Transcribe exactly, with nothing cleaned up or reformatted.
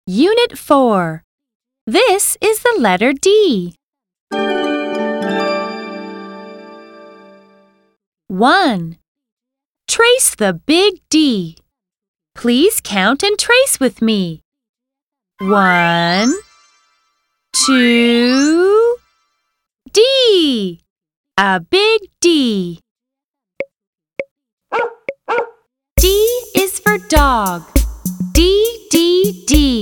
Unit four. This is the letter D. one. Trace the big D. Please count and trace with me. One, two, D. A big D. D is for dog. D, D, D.